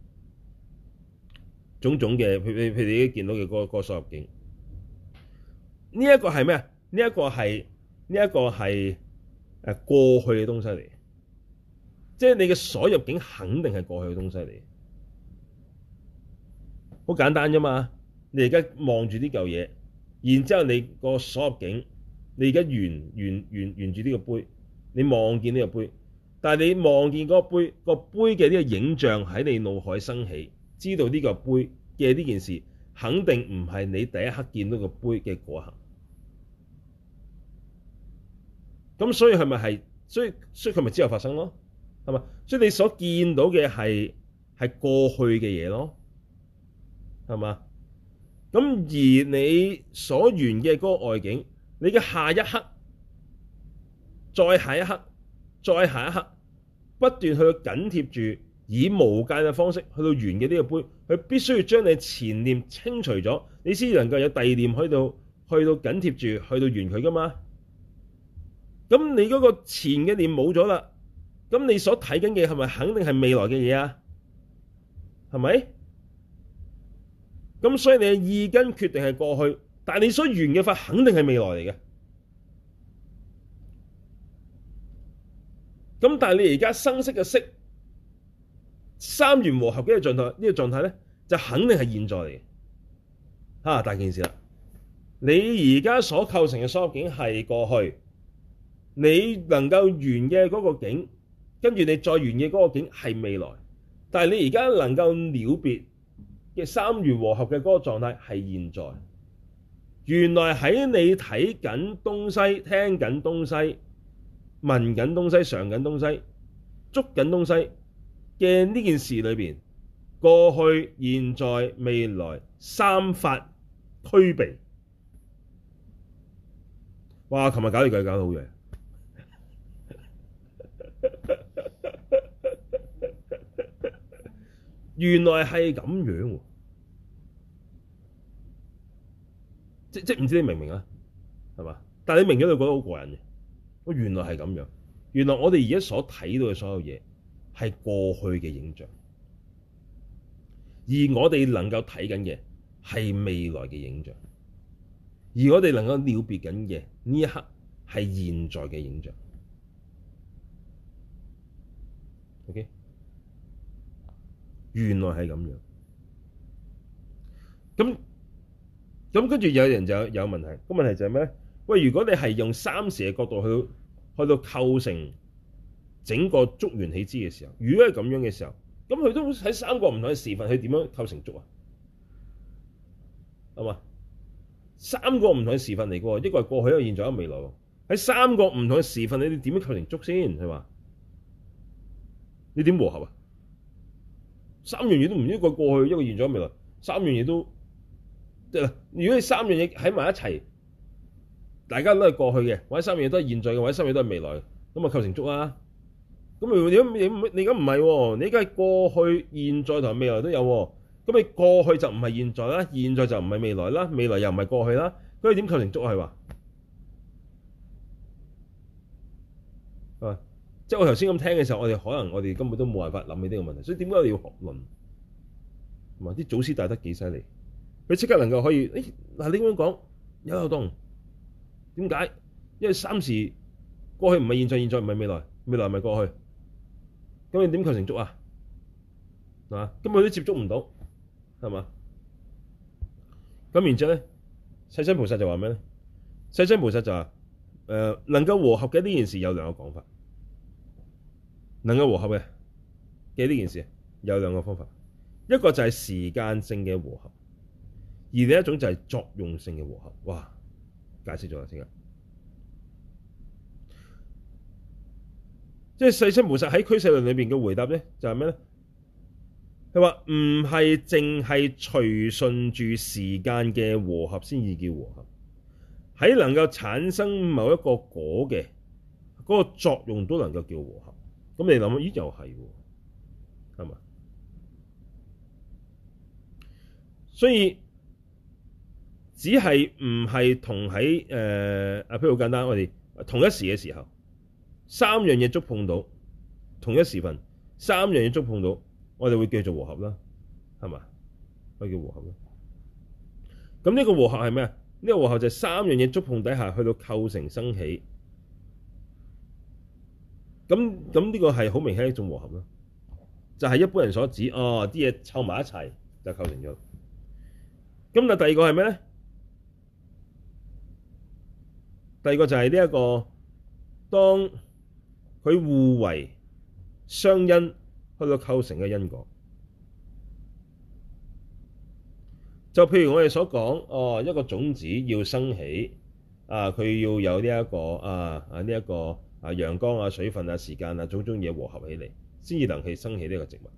Speaker 1: 嘅，譬如你見到嘅嗰個所入境，呢一個係咩啊？呢一個係過去嘅東西嚟，即係你嘅所入境肯定係過去嘅東西嚟。好簡單啫嘛！你而家望住呢嚿嘢，然之後你個所入境，你而家沿住呢個杯，你望見呢個杯，但係你望見嗰個杯嘅呢個影像喺你腦海生起，知道呢個杯嘅呢件事，肯定唔係你第一刻見到個杯嘅嗰一刻。咁所以係咪係？所以佢咪之後發生咯？係嘛？所以你所見到嘅係過去嘅嘢咯，係嘛？咁而你所緣嘅嗰個外境，你嘅下一刻、再下一刻、再下一刻，不斷去緊貼住以無間嘅方式去到緣嘅呢個杯，佢必須要將你前念清除咗，你先能夠有第二念去到緊貼住去到緣佢噶嘛。咁你嗰個前嘅念冇咗啦，咁你所睇緊嘅係咪肯定係未來嘅嘢啊？係咪？咁所以你嘅意根決定係過去，但係你所緣嘅法肯定係未來嚟嘅。咁但係你而家生色嘅色三緣和合嘅狀態，呢個狀態咧就肯定係現在嚟嘅。大件事啦，你而家所構成嘅所有境係過去，你能夠緣嘅嗰個境，跟住你再緣嘅嗰個境係未來，但係你而家能夠了別嘅三緣和合嘅嗰個狀態係現在。原來喺你睇緊東西、聽緊東西、聞緊東西、嘗緊東西、捉緊東西嘅呢件事裏邊，過去、現在、未來三法俱備。哇！琴日搞呢句搞得好嘢。原來係咁樣喎，即唔知你明唔明啊？係嘛？但係你明咗，你覺得好過癮嘅。原來係咁樣。原來我哋而家所睇到嘅所有嘢係過去嘅影像，而我哋能夠睇緊嘅係未來嘅影像，而我哋能夠了別緊嘅呢一刻係現在嘅影像。OK。原來係咁樣，咁跟住有人就有問題，個問題就係咩咧？喂，如果你係用三時嘅角度去到構成整個觸緣起支嘅時候，如果係咁樣嘅時候，咁佢都喺三個唔同嘅時分，佢點樣構成觸啊？係嘛？三個唔同嘅時分嚟嘅喎，一個係過去，一個現在，一個未來喎。喺三個唔同嘅時分，你點樣構成觸先？係嘛？你點和合啊？三樣嘢都唔，一個過去，一個現在，一個未來，三樣嘢都即係如果你三樣嘢喺埋一齊，大家都係過去嘅，或者三樣嘢都係現在嘅，或者三樣嘢都係未來嘅，咁啊構成觸啊。咁你而家唔係喎，你而家係過去、現在同未來都有喎。咁你過去就唔係現在啦，現在就唔係未來啦，未來又唔係過去啦。咁你點構成觸係話？係即係我頭先咁聽嘅時候，我哋根本都冇辦法諗起呢個問題。所以點解我哋要學論？同埋啲祖師大德幾犀利，佢即刻能夠可以嗱你咁樣講有漏洞。點解？因為三時過去唔係現在，現在唔係未來，未來唔係過去。咁你點構成觸啊？係嘛？根本都接觸唔到，係嘛？咁然之後咧，世親菩薩就話咩咧？世親菩薩就話能夠和合嘅呢件事有兩個講法。能夠和合嘅呢件事有兩個方法，一個就係時間性嘅和合，而另一種就係作用性嘅和合。哇！解釋咗啦，即刻。即係世親菩薩喺俱舍論裏邊嘅回答咧，就係咩咧？佢話唔係淨係隨順住時間嘅和合先至叫和合，喺能夠產生某一個果嘅嗰個作用都能夠叫和合。咁你諗，咦又係喎，係嘛？所以只係唔係同喺譬如好簡單，我哋同一時嘅時候，三樣嘢觸碰到同一時份，三樣嘢觸碰到，我哋會叫做和合啦，係嘛？可以叫和合啦。咁呢個和合係咩啊？呢個和合就係三樣嘢觸碰底下去到構成生起。咁呢個係好明顯一種和合咯，就係一般人所指啲嘢湊埋一齊就構成咗。咁但第二個係咩咧？第二個就係呢一個，當佢互為相因去到構成嘅因果。就譬如我哋所講，一個種子要生起，佢要有呢一個呢一個陽光水分時間種種嘢和合起嚟，先至能夠生起呢個植物。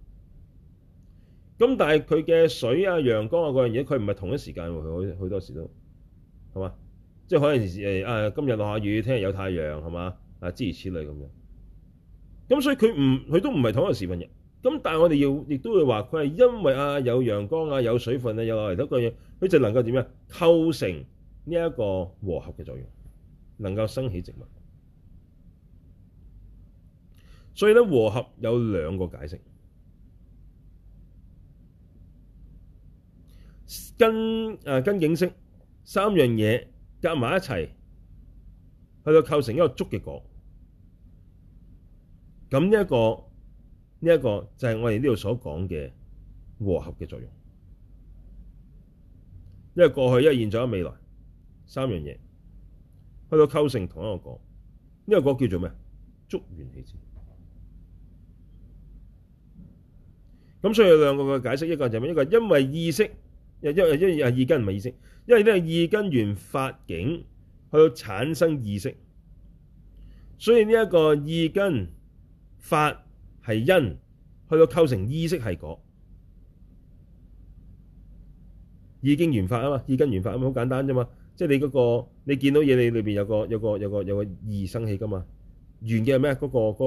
Speaker 1: 咁但係佢嘅水陽光嗰樣嘢，佢唔係同一時間喎，佢好多時都係嘛？即係可能今日落下雨，聽日有太陽，係嘛？諸如此類咁樣。咁所以佢都唔係同一個時分嘅。咁但係我哋亦都會話佢係因為有陽光有水分有落嚟嗰個嘢，佢就能夠點樣構成呢一個和合嘅作用，能夠生起植物。所以咧，和合有兩個解釋。根境識三樣嘢夾埋一齊，去到構成一個觸嘅果。咁呢一個就係我哋呢度所講嘅和合嘅作用。因為過去、因為現在、未來三樣嘢去到構成同一個果。呢個果叫做咩？觸緣起支。咁所以有兩個嘅解釋，一個就係咩？一個因為意識，因為意根唔係意識，因為呢個意根緣法境去到產生意識，所以呢一個意根法係因，去到構成意識係果。意經緣法啊嘛，意根緣法咁好簡單啫嘛，即係你嗰個你見到嘢，你裏邊有個意生起噶嘛，緣嘅係咩？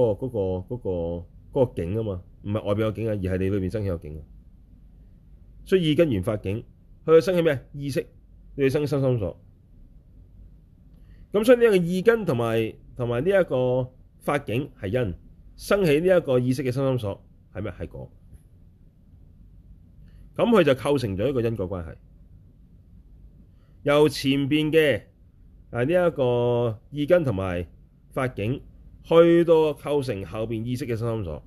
Speaker 1: 嗰個境啊嘛，唔係外邊有境啊，而係你裏邊生起有境啊。所以意根緣法境，佢生起咩？意識，你生心心所。咁所以呢一個意根同埋呢一個法境係因，生起呢一個意識嘅心心所係咩？係果。咁佢就構成咗一個因果關係。由前邊嘅呢一個意根同埋法境，去到構成後邊意識嘅心心所，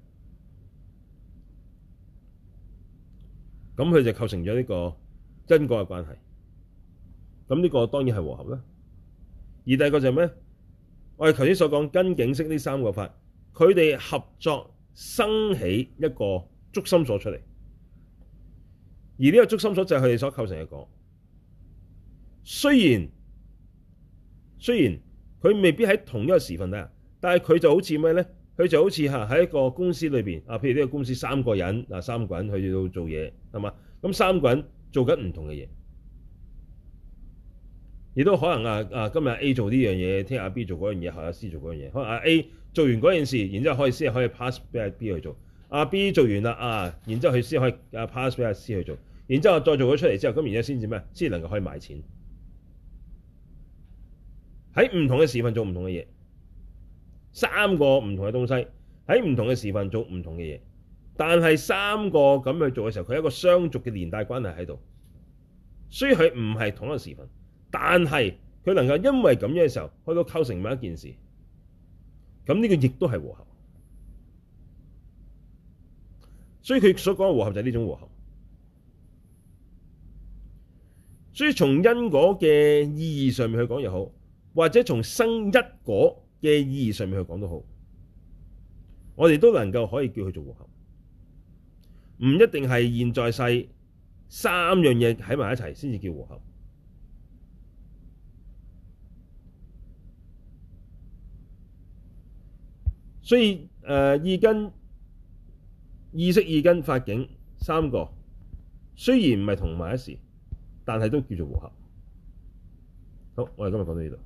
Speaker 1: 咁佢就構成咗呢個因果嘅關係。咁呢個當然係和合啦。而第二個就係咩？我哋頭先所講根境識呢三個法，佢哋合作生起一個觸心所出嚟。而呢個觸心所就係佢哋所構成嘅果。雖然佢未必喺同一個時分底下，但係佢就好似咩咧？佢就好似喺一個公司裏邊譬如呢個公司三個人去到做嘢，係嘛？咁三個人做緊唔同嘅嘢，亦都可能今日 A 做呢樣嘢，聽日阿 B 做嗰樣嘢，後日阿 C 做嗰樣嘢。可能阿 A 做完嗰件事，然之後先可以 pass 俾阿 B 去做。阿 B 做完啦然之後佢先可以pass 俾阿 C 去做。然之後再做咗出嚟之後，咁然之後先至咩？先能夠可以賣錢。喺唔同嘅時份做唔同嘅嘢，三個唔同嘅東西喺唔同嘅時份做唔同嘅嘢，但係三個咁去做嘅時候，佢有一個相續嘅連帶關係喺度，所以佢唔係同一個時份，但係佢能夠因為咁樣嘅時候去到構成某一件事，咁呢個亦都係和合。所以佢所講嘅和合就係呢種和合。所以從因果嘅意義上面去講又好，或者從生一果嘅意義上面去講都好，我哋都能夠可以叫佢做和合，唔一定係現在世三樣嘢喺埋一齊先至叫和合。所以意根、意識、意根、法境三個雖然唔係同埋一時，但係都叫做和合。好，我哋今日講到呢度。